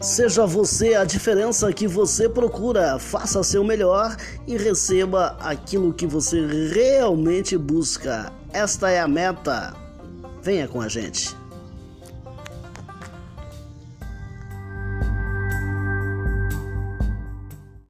Seja você a diferença que você procura, faça seu melhor e receba aquilo que você realmente busca. Esta é a meta. Venha com a gente.